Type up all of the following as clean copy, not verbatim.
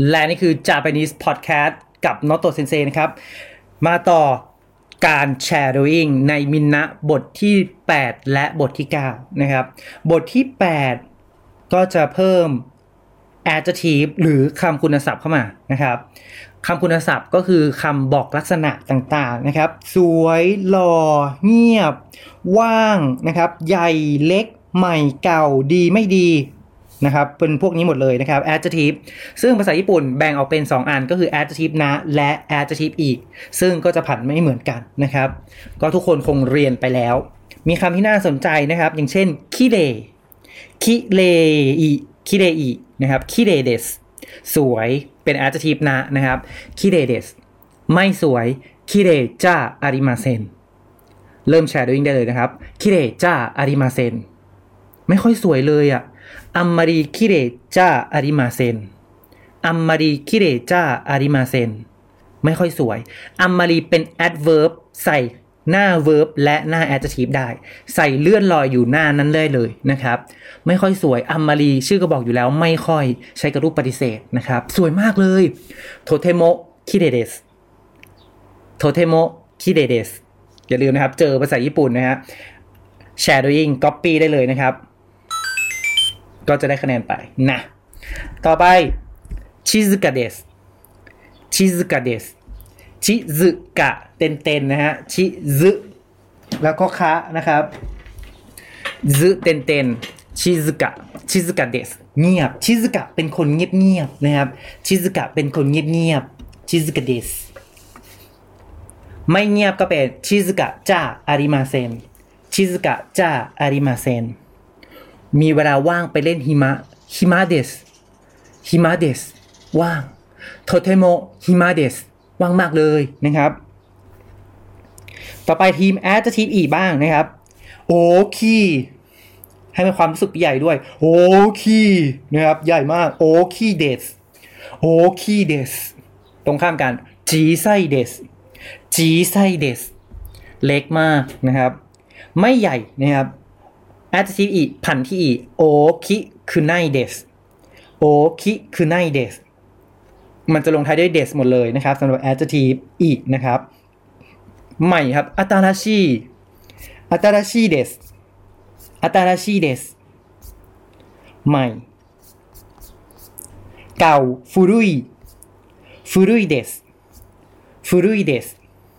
และนี่คือ Japanese Podcast กับ Noto Sensei นะครับมาต่อการ shadowing ในมินนะบทที่8และบทที่9นะครับบทที่8ก็จะเพิ่ม adjective หรือคำคุณศัพท์เข้ามานะครับคำคุณศัพท์ก็คือคำบอกลักษณะต่างๆนะครับสวยหล่อเงียบว่างนะครับใหญ่เล็กใหม่เก่าดีไม่ดีนะครับเป็นพวกนี้หมดเลยนะครับ adjective ซึ่งภาษาญี่ปุ่นแบ่งออกเป็น2อันก็คือ adjective นะและ adjective อีกซึ่งก็จะผันไม่เหมือนกันนะครับก็ทุกคนคงเรียนไปแล้วมีคำที่น่าสนใจนะครับอย่างเช่นคิเรคิเรอิคิเรอินะครับคิเรเดสสวยเป็น adjective นะครับคิเรเดสไม่สวยคิเรจะอาริมาเซนเริ่ม shadowing ได้เลยนะครับคิเรจะอาริมาเซนไม่ค่อยสวยเลยอ่ะあんまり綺麗じゃありませんあんまり綺麗じゃありませんไม่ค่อยสวยあんまりเป็น adverb ใส่หน้า verb และหน้า adjective ได้ใส่เลื่อนลอยอยู่หน้านั้นได้เลยนะครับไม่ค่อยสวยあんまりชื่อก็บอกอยู่แล้วไม่ค่อยใช้กับรูปปฏิเสธนะครับสวยมากเลยとても綺麗ですとても綺麗ですอย่าลืมนะครับเจอภาษาญี่ปุ่นนะฮะ shadowing copy ได้เลยนะครับก็จะได้คะแนนไปนะต่อไปชิซึกะเดสชิซึกะเดสชิซึกะเต็นๆนะฮะชิซึแล้วก็คะนะครับซึเต็นๆชิซึกะเดสเงียบชิซึกะเป็นคนเงียบๆนะครับชิซึกะเป็นคนเงียบๆชิซึกะเดสไม่เงียบก็เป็นชิซึกะจะอาริมาเซนชิซึกะจะอาริมาเซนมีเวลาว่างไปเล่นหิมะเดสว่างโทเทโมหิมะเดสว่างมากเลยนะครับต่อไปทีม adjective อีกบ้างนะครับโอคีให้มีความรู้สึกใหญ่ด้วยโอคีนะครับใหญ่มากโอคีเดสตรงข้ามกันจีไซเดสเล็กมากนะครับไม่ใหญ่นะครับadjective อีกพันที่อีโอคิคือไนเดสมันจะลงท้ายด้วยเดสหมดเลยนะครับสำหรับ adjective อีกนะครับใหม่ครับอาตาราชิเดสใหม่เก่าฟุรุยเดส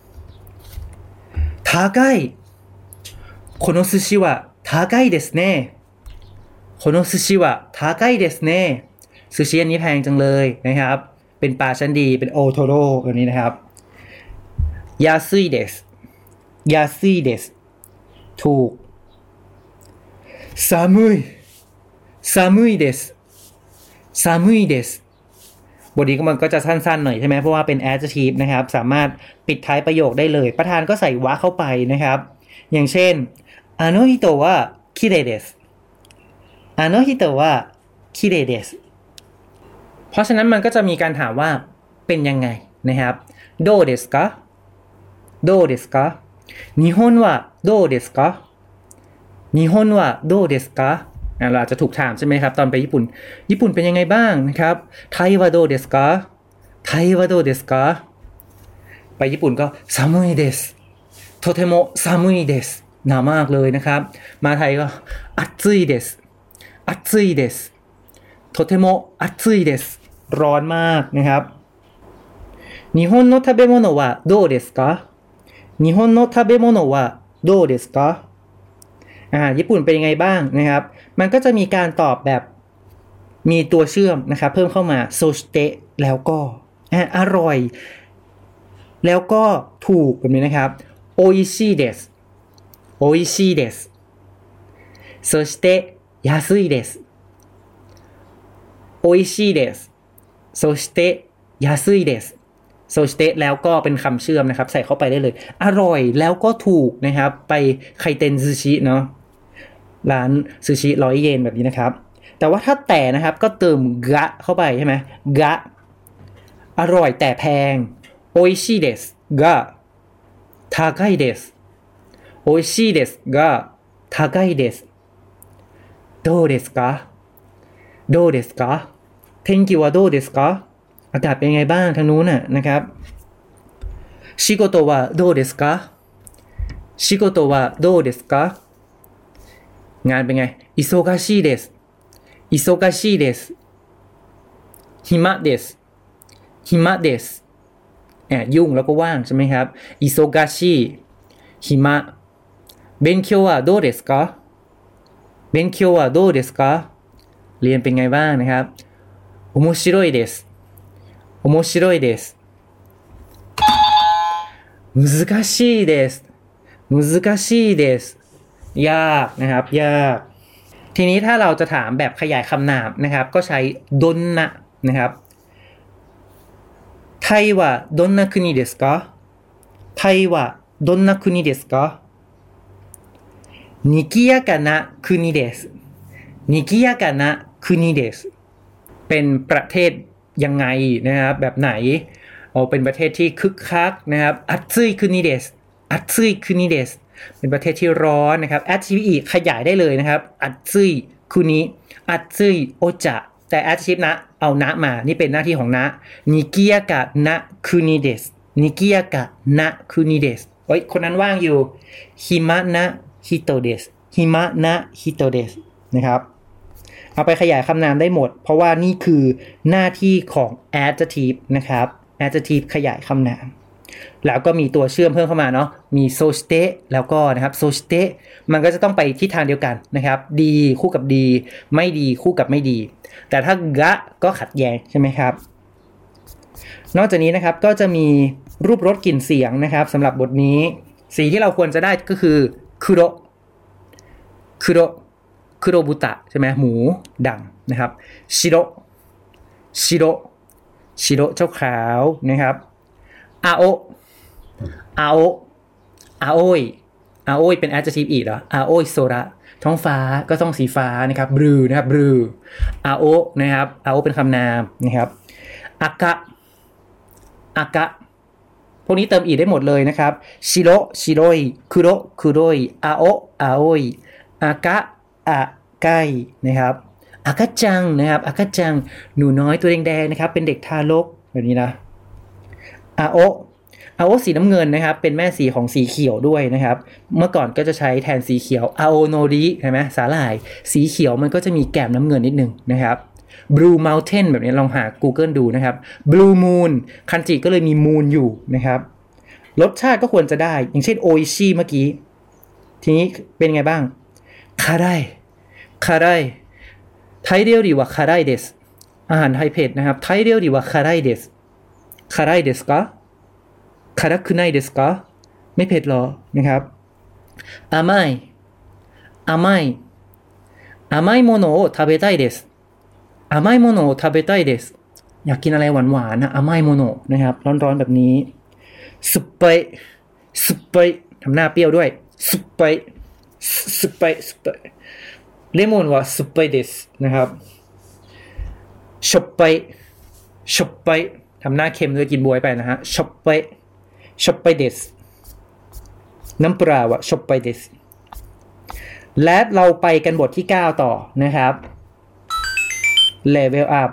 高いこの寿司は高いですねこの寿司は高いですねซูชิอันนี้แพงจังเลยนะครับเป็นปลาชั้นดีเป็นโอโทโร่แบบนี้นะครับ安いですถูก寒いですบทนี้มันก็จะสั้นๆหน่อยใช่ไหมเพราะว่าเป็น adjective นะครับสามารถปิดท้ายประโยคได้เลยประธานก็ใส่วะเข้าไปนะครับอย่างเช่นあの人は綺麗ですเพราะฉะนั้นมันก็จะมีการถามว่าเป็นยังไงนะครับどうですか日本はどうですかเราอาจจะถูกถามใช่ไหมครับตอนไปญี่ปุ่นเป็นยังไงบ้างนะครับไทยはどうですかไปญี่ปุ่นก็寒いですとても寒いですหนาวมากเลยนะครับมาไทยก็暑いですとても暑いですร้อนมากนะครับ日本の食べ物はどうですかญี่ปุ่นเป็นยังไงบ้างนะครับมันก็จะมีการตอบแบบมีตัวเชื่อมนะครับเพิ่มเข้ามาโซชิเตะแล้วก็อร่อยแล้วก็ถูกแบบนี้นะครับโออิชิเดสそして安いですโออิชิเดสそして安いですโซชิเตะแล้วก็เป็นคำเชื่อมนะครับใส่เข้าไปได้เลยอร่อยแล้วก็ถูกนะครับไปไคเต็นซูชิเนาะร้านซูชิ100 เยนแบบนี้นะครับแต่ว่าถ้าแต่นะครับก็เติมกะเข้าไปใช่ไหมกะอร่อยแต่แพงโออิชิเดสกะ高いです美味しいですが高いですどうですか天気はどうですかอากาศเป็นไงบ้างทางนู้นน่ะนะครับ仕事はどうですか仕事はどうですかงานเป็นไง忙しいです忙しいです暇です暇ですยุ่งแล้วก็ว่างใช่ไหมครับ忙しい暇勉強はどうですか勉強はどうですかเรียนเป็นไงบ้างนะครับ面白いです面白いです難しいです難しいですยากนะครับยากทีนี้ถ้าเราจะถามแบบขยายคำนามนะครับก็ใช้ดนนะนะครับไทยはどんな国ですかไทยはどんな国ですか賑やかな国です賑やかな国ですเป็นประเทศยังไงนะครับแบบไหนเป็นประเทศที่คึกคักนะครับอัตซึยคุนิเดสอัตซึยคุนิเดสเป็นประเทศที่ร้อนนะครับแอดชีฟอีขยายได้เลยนะครับอัตซึยคุนิอัตซึยโอจะแต่แอดชีฟนะเอานะมานี่เป็นหน้าที่ของนะนิกิยากะนะคุนิเดสนิกิยากะนะคุนิเดสคนนั้นว่างอยู่ฮิมะนะฮิโตเดสฮิมะนะฮิโตเดสนะครับเอาไปขยายคำนามได้หมดเพราะว่านี่คือหน้าที่ของ adjective นะครับ adjective ขยายคำนามแล้วก็มีตัวเชื่อมเพิ่มเข้ามาเนาะมีโซสเตแล้วก็นะครับโซสเตมันก็จะต้องไปทิศทางเดียวกันนะครับดีคู่กับดีไม่ดีคู่กับไม่ดีแต่ถ้ากะก็ขัดแย้งใช่ไหมครับนอกจากนี้นะครับก็จะมีรูปรสกลิ่นเสียงนะครับสำหรับบทนี้สีที่เราควรจะได้ก็คือคุโรคุโรคุโรบุตะใช่ไหมหมูดำนะครับชิโรชิโรชิโรเจ้าขาวนะครับอาโออาโออาโอยอาโอยเป็น adjective อีกเหรออาโอยโซระท้องฟ้าก็ต้องสีฟ้านะครับบลูนะครับบลูอาโอนะครับอาโอเป็นคำนามนะครับอากะอากะพวกนี้เติมอีกได้หมดเลยนะครับชิโรชิโรยคุโรคุโรยอาโออาโอยอากะอาไกนะครับอากะจังนะครับอากะจังหนูน้อยตัวแดงๆนะครับเป็นเด็กทารกแบบนี้นะอาโออาโอสีน้ำเงินนะครับเป็นแม่สีของสีเขียวด้วยนะครับเมื่อก่อนก็จะใช้แทนสีเขียวอาโอโนริใช่ไหมสาหร่ายสีเขียวมันก็จะมีแก้มน้ำเงินนิดนึงนะครับ Blue Mountain แบบนี้ลองหา Google ดูนะครับ Blue Moon คันจิก็เลยมี moon อยู่นะครับรสชาติก็ควรจะได้อย่างเช่นโออิชิเมื่อกี้ทีนี้เป็นไงบ้างคาไดคาไดไทยเรียวดีว่าคาไดเดสอาหารไทยเผ็ดนะครับไทยเรียวดีว่าคาไดเดสคาไดเดสกะคาราคุไนเดสกะไม่เผ็ดหรอนะครับ甘い甘い甘いものを食べたいです甘いものを食べたいですอยากกินอะไรหวานๆนะ甘いものนะครับร้อนๆแบบนี้สุปไปสุปไปทำหน้าเปรี้ยวด้วยสุปไปสุปไปสุปไปเลมอนว่าสุปไปเดสนะครับชอบไปชอบไปทำหน้าเค็มด้วยกินบวยไปนะฮะชอบไปชอบไปเดสน้ำปลาว่าชอบไปเดสและเราไปกันบทที่9ต่อนะครับ Level up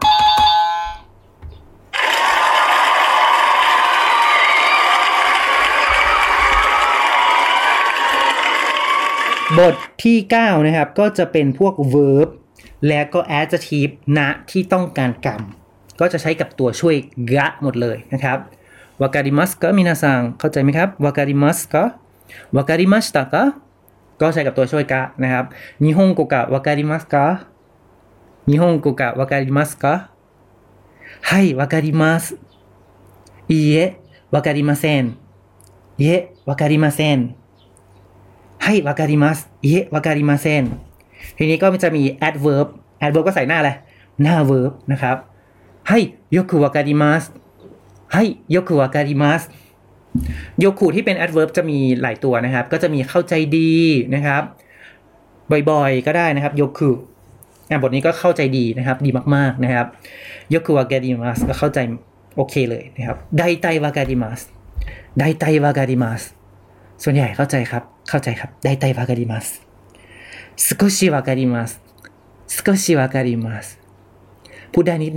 บทที่9นะครับก็จะเป็นพวก verb และก็ adjective ณที่ต้องการกรรมก็จะใช้กับตัวช่วยกะหมดเลยนะครับวาการิมัสกะมินาซังเข้าใจไหมครับวาการิมัสกะวาการิมัสตะกะก็ใช้กับตัวช่วยกะนะครับนิฮงโกกะวาการิมัสกะนิฮงโกกะวาการิมัสกะはいわかりますいいえわかりませんいえわかりませんはいわかりますいえわかりませんทีนี้ก็มันจะมี adverb adverb ก็ใส่หน้าอะไรหน้า verb นะครับはいよくわかりますはいよくわかりますโยคุที่เป็น adverb จะมีหลายตัวนะครับก็จะมีเข้าใจดีนะครับบ่อยๆก็ได้นะครับโยคุบทนี้ก็เข้าใจดีนะครับดีมากๆนะครับโยคุวาการิมัสก็เข้าใจโอเคเลยนะครับไดไตวาการิมัสไดไตวาการิมัสส่วนใหญ่เข้าใจครับเข้าใจครับไดไตวาการิมัสสกุชิวาการิมัสสกุชิวาการิมัสพูดได้นิดหน่อย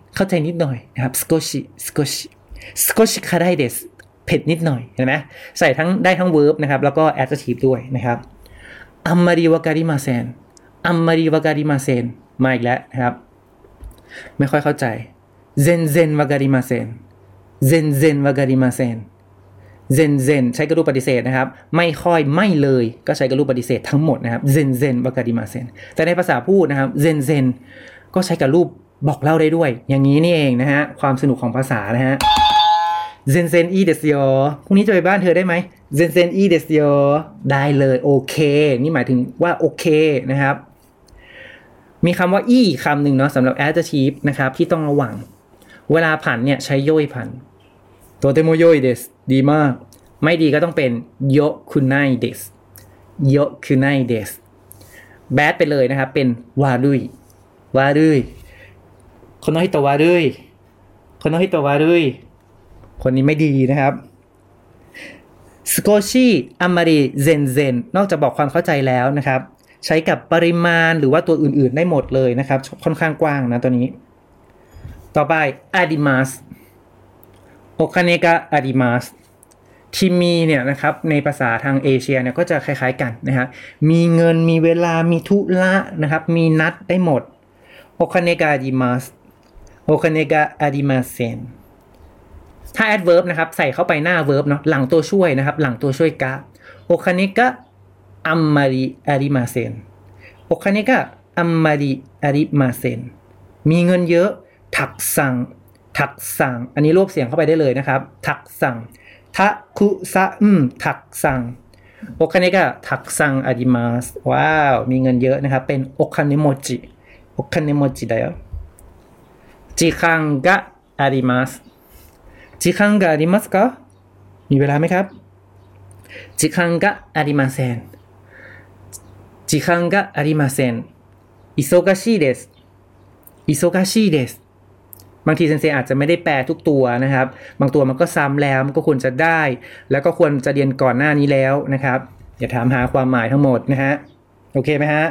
เข้าใจนิดหน่อยนะครับ少し少し辛いですเผ็ดนิดหน่อยเห็นไหมใส่ทั้งได้ทั้ง verb นะครับแล้วก็ adjective ด้วยนะครับあんまりわかりませんあんまりわかりませんมาอีกแล้วนะครับไม่ค่อยเข้าใจ全然わかりません全然わかりませんเซนเซนใช้กระรูปปฏิเสธนะครับไม่ค่อยไม่เลยก็ใช้กระรูปปฏิเสธทั้งหมดนะครับเซนเซนวากาดิมาเซนแต่ในภาษาพูดนะครับเซนเซนก็ใช้กระรูปบอกเล่าได้ด้วยอย่างนี้นี่เองนะฮะความสนุกของภาษานะฮะเซนเซนอีเดสโยพรุ่งนี้จะไปบ้านเธอได้ไหมเซนเซนอีเดสโยได้เลยโอเคนี่หมายถึงว่าโอเคนะครับมีคำว่าอีคำหนึ่งเนาะสำหรับ adjective นะครับที่ต้องระวังเวลาผันเนี่ยใช้โยยผันโตเตโมโยยเดสดีมากไม่ดีก็ต้องเป็นโยคุไนเดสโยคุไนเดสแบดไปเลยนะครับเป็นวารุยวารุยคนน้อยตัววารุยคนน้อยตัววารุยคนนี้ไม่ดีนะครับสโกชิอามาริเซนเซนนอกจากบอกความเข้าใจแล้วนะครับใช้กับปริมาณหรือว่าตัวอื่นๆได้หมดเลยนะครับค่อนข้างกว้างนะตัวนี้ต่อไปอาดิมัสโอคาเนกะอาดิมัสที่มีเนี่ยนะครับในภาษาทางเอเชียเนี่ยก็จะคล้ายๆกันนะครับมีเงินมีเวลามีธุระนะครับมีนัดได้หมดโอคาเนกะอาดิมัสโอคาเนกะอาดิมัสเซนถ้า adverb นะครับใส่เข้าไปหน้า verb เนาะหลังตัวช่วยนะครับหลังตัวช่วยกะโอคาเนกะอัมมาริอาริมาเซนโอคาเนกะอัมมาริอาริมาเซนมีเงินเยอะถักสั่งอันนี้รวบเสียงเข้าไปได้เลยนะครับถักสั่งทะคุซะถักสั่งโอคาเนกะถักสั่งอาริมาสว้าวมีเงินเยอะนะครับเป็นโอคาเนโมจิได้よ時間があります時間がありますかมีเวลาไหมครับ時間がありません時間がありません忙しいです忙しいですบางทีเซนเซอาจจะไม่ได้แปลทุกตัวนะครับบางตัวมันก็ซ้ำแล้วมันก็ควรจะได้แล้วก็ควรจะเรียนก่อนหน้านี้แล้วนะครับอย่าถามหาความหมายทั้งหมดนะฮะโอเคไหมฮะ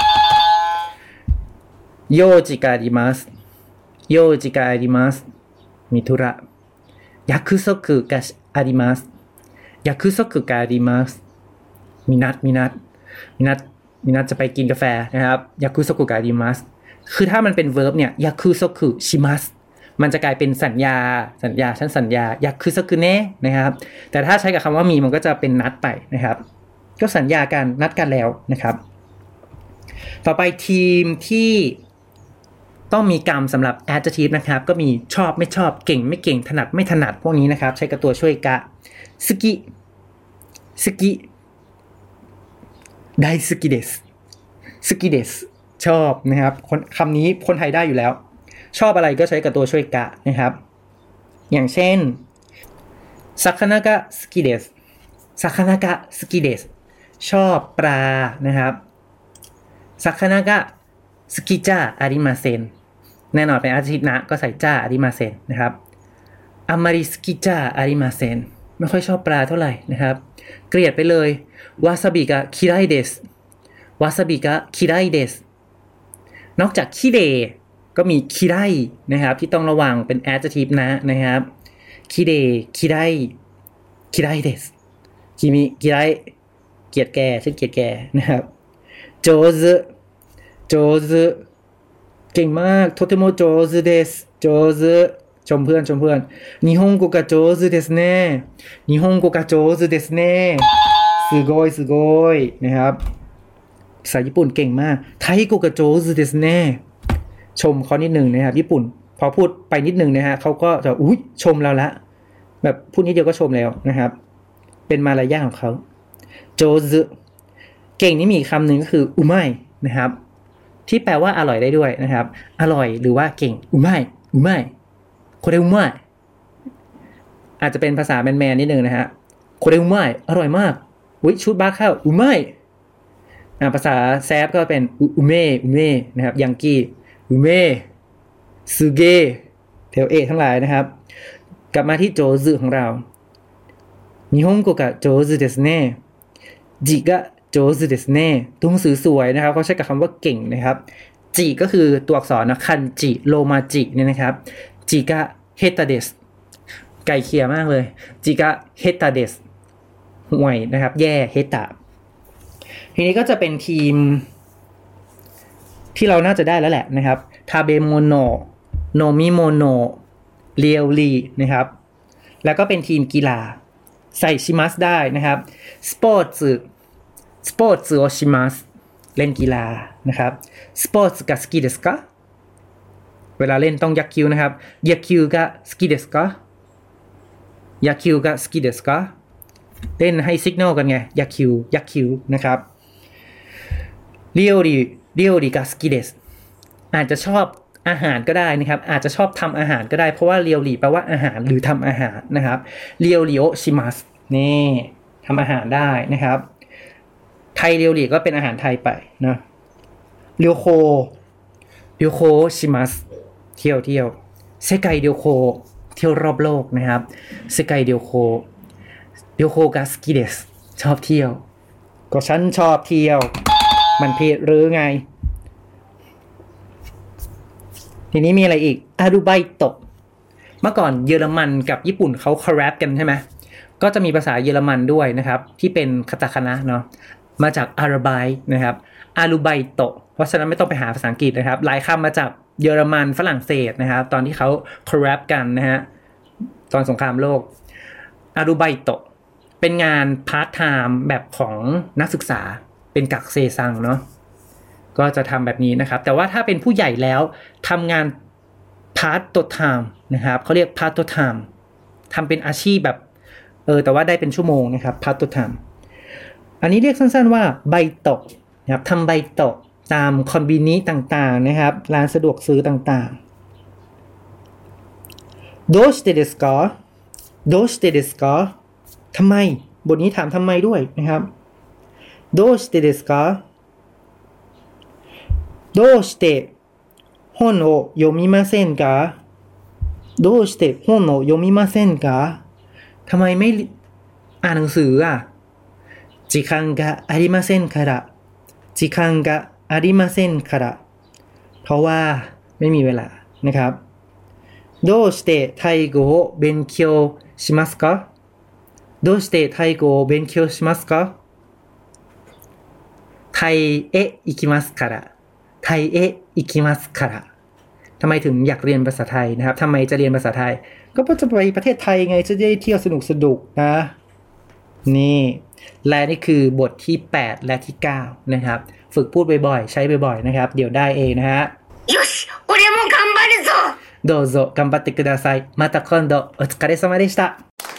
โยจิกาดิมัสโยจิกาดิมัสมีธุระยักคุซกุกะอาริมัสยักคุซกุกะอาริมัสมีนัดจะไปกินกาแฟนะครับยักคุซกุกะอาริมัสคือถ้ามันเป็น verb เนี่ยยักคุซกุชิมัสมันจะกลายเป็นสัญญาฉันสัญญายักคุซกุเนะนะครับแต่ถ้าใช้กับคำว่ามีมันก็จะเป็นนัดไปนะครับก็สัญญากันนัดกันแล้วนะครับต่อไปทีมที่ต้องมีกรรมสำหรับ adjective นะครับก็มีชอบไม่ชอบเก่งไม่เก่งถนัดไม่ถนัดพวกนี้นะครับใช้กับตัวช่วยกะสุกิไดสุกิเดสชอบนะครับคำนี้คนไทยได้อยู่แล้วชอบอะไรก็ใช้กับตัวช่วยกะนะครับอย่างเช่นซาคานะกะสุกิเดสชอบปลานะครับซาคานะกะสุกิจ้าอาริมาเซนแน่นอนเป็นadjectiveนะก็ใส่จ้าอาริมาเซนนะครับอามาริสุกิจ้าอาริมาเซนไม่ค่อยชอบปลาเท่าไหร่นะครับเกลียดไปเลยวาซาบิกะคิไรเดสนอกจากคิเดก็มีคิไรนะครับที่ต้องระวังเป็น adjective นะครับคิเดคิไรเดสคิมิคิไรเกลียดแกฉันเกลียดแกนะครับโจซึเก่งมากโทเทโมโจซึเดสโจซึชมเพื่อน日本語が上手ですねすごいนะครับภาษาญี่ปุ่นเก่งมากไทย語が上手ですねชมเขานิดนึงนะครับญี่ปุ่นพอพูดไปนิดนึงนะฮะเขาก็จะอุ๊ยชมเราละแบบพูดนิดเดียวก็ชมแล้วนะครับเป็นมารยาทของเขาโจซึเก่งนี่มีคำหนึ่งก็คืออุไมนะครับที่แปลว่าอร่อยได้ด้วยนะครับอร่อยหรือว่าเก่งอุไมโคเรอุไมอาจจะเป็นภาษาแมนๆนิดนึงนะฮะโคเรอุไมอร่อยมากอุ๊ยชุดบ้าข้าวอุไมภาษาแซฟก็เป็นอุเมนะครับยังกี้อุเมซูเกเทลเอทั้งหลายนะครับกลับมาที่โจซึของเรา日本語が上手ですね字が上手ですねตัวหนังสือสวยนะครับเขาใช้กับคำว่าเก่งนะครับจิก็คือตัวอักษรนะคันจิโรมาจิเนี่ยนะครับจิกะเฮตาเดสไกลเคียมากเลยจิกะเฮตาเดสห่วยนะครับแย่เฮตาทีนี้ก็จะเป็นทีมที่เราน่าจะได้แล้วแหละนะครับทาเบโมโนโนมิโมโนเรียวลีนะครับแล้วก็เป็นทีมกีฬาใส่ชิมัสได้นะครับสปอร์ตส์โอชิมัสเล่นกีฬานะครับสปอร์ตส์が好きですかเวลาเล่นต้องยักคิ้วนะครับยักคิ้วが好きですかยักคิ้วが好きですかเล่นให้ซิกนัลกันไงยักคิ้วนะครับเรียวลีが好きですอาจจะชอบอาหารก็ได้นะครับอาจจะชอบทำอาหารก็ได้เพราะว่าเรียวลีแปลว่าอาหารหรือทำอาหารนะครับเรียวลีโอชิมัสนี่ทำอาหารได้นะครับไทยเรียวลีก็เป็นอาหารไทยไปนะเรียวโคชิมัสเที่ยวเซไกเรียวโคเที่ยวรอบโลกนะครับเซไกเรียวโคกาสกิเดสชอบเที่ยวก็ฉันชอบเที่ยวมันผิดหรือไงทีนี้มีอะไรอีกอารุไบโตะเมื่อก่อนเยอรมันกับญี่ปุ่นเขาคอลแลบกันใช่ไหมก็จะมีภาษาเยอรมันด้วยนะครับที่เป็นคาตาคานะเนาะมาจากอาราไบนะครับอารุไบโตะเพราะฉะนั้นไม่ต้องไปหาภาษาอังกฤษนะครับหลายคำมาจากเยอรมันฝรั่งเศสนะครับตอนที่เขาคอลแลบกันนะฮะตอนสงครามโลกอารุไบโตะเป็นงานพาร์ทไทม์แบบของนักศึกษาเป็นกักเซซังเนาะก็จะทำแบบนี้นะครับแต่ว่าถ้าเป็นผู้ใหญ่แล้วทำงานพาร์ทไทม์นะครับเขาเรียกพาร์ทไทม์ทำเป็นอาชีพแบบแต่ว่าได้เป็นชั่วโมงนะครับพาร์ทไทม์อันนี้เรียกสั้นๆว่าไบโตะนะครับทำไบโตะตามคอนบินิต่างๆนะครับร้านสะดวกซื้อต่างๆโดชิเตเดสกะทำไมบทนี้ถามทำไมด้วยนะครับโดชิเตเดสกะどうして本を読みませんかどうして本を読みませんかทำไมไม่อ่านหนังสืออ่ะ時間がありませんから時間がありませんからเพราะว่าไม่มีเวลานะครับどうしてタイ語を勉強しますかどうしてタイ語を勉強しますかไทยへ行きますからไทยเอะอิคิมัสคาระทำไมถึงอยากเรียนภาษาไทยนะครับทำไมจะเรียนภาษาไทยก็เพราะจะไปประเทศไทยไงจะได้เที่ยวสนุกนะนี่และนี่คือบทที่8และที่9นะครับฝึกพูดบ่อยๆใช้บ่อยๆนะครับเดี๋ยวได้เองนะฮะよし俺も頑張るぞどうぞ頑張ってくださいまた今度お疲れ様でした